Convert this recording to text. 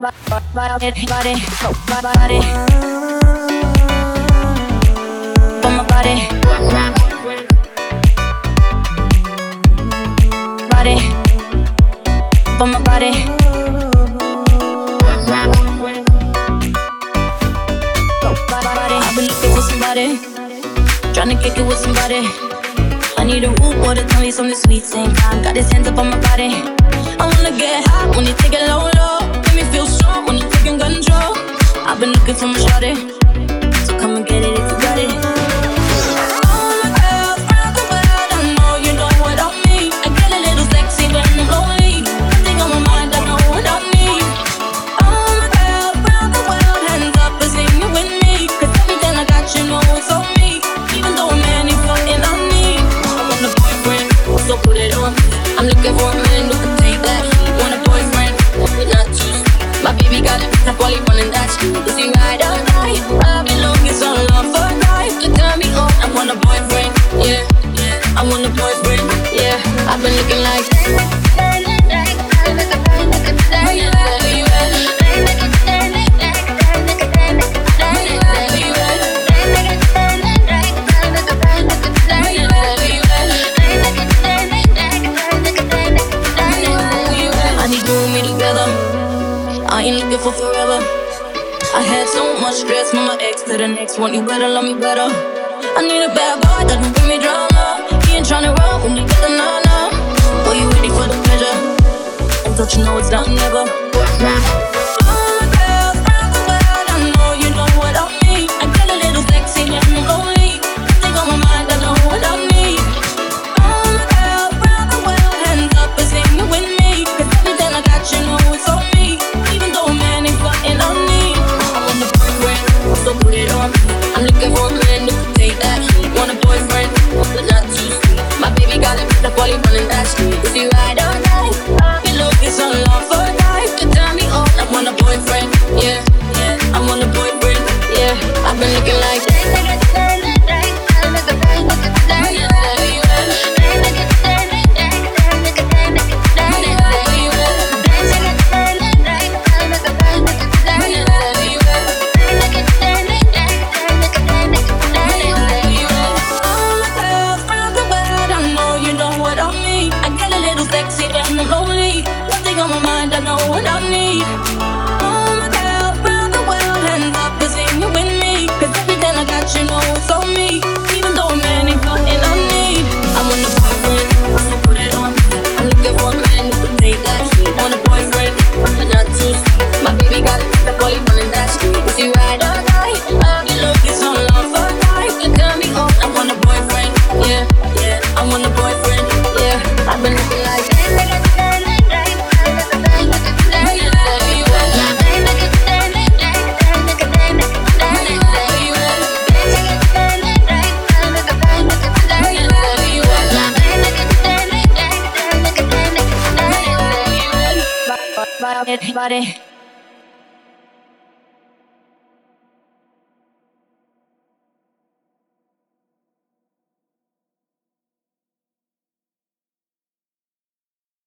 I've been looking for somebody, trying to kick it with somebody. I need a root water, tell me something sweet, same time. Got his hands up on my body. I wanna get hot when you take it low, low. Make me feel strong when you're taking control. I've been looking for my shawty, so come and get it if you got it. All my girls round the world, I know you know what I mean. I get a little sexy when I'm lonely. Nothing on my mind, I know what I need. All my girls round the world, hands up and sing it with me. 'Cause everything I got, you know it's on me. Even though a man ain't fucking on me. I want a boyfriend, so put it on. I'm looking for a man who can take that. Want a boyfriend, but not two. My baby got it, that's why he running that. Is he ride or die? I've been looking so long for a life to turn me on. I want a boyfriend, yeah, yeah. I want a boyfriend, yeah. I've been looking like. Where you at? Where you at? I ain't looking for forever. I had so much stress from my ex to the next one. You better love me better. I need a bad boy that can bring me drama. He ain't tryna run when you get the nana. Boy, you ready for the pleasure? And don't you know it's now or never? All my girls round the world, I know you know what I mean. I get a little sexy when I'm lonely. Think on my mind, I know what I need. All my girls round the world, hands up and sing it with me. 'Cause everything I got, you know it's on me. So put it on. I'm looking for a man who can take that. Want a boyfriend, but not too sweet. My baby got it, that's why he running that street. Is he ride or die? I've been looking so long for a life to turn me on. I want a boyfriend, yeah, yeah. I want a boyfriend, yeah. I've been looking like. Body.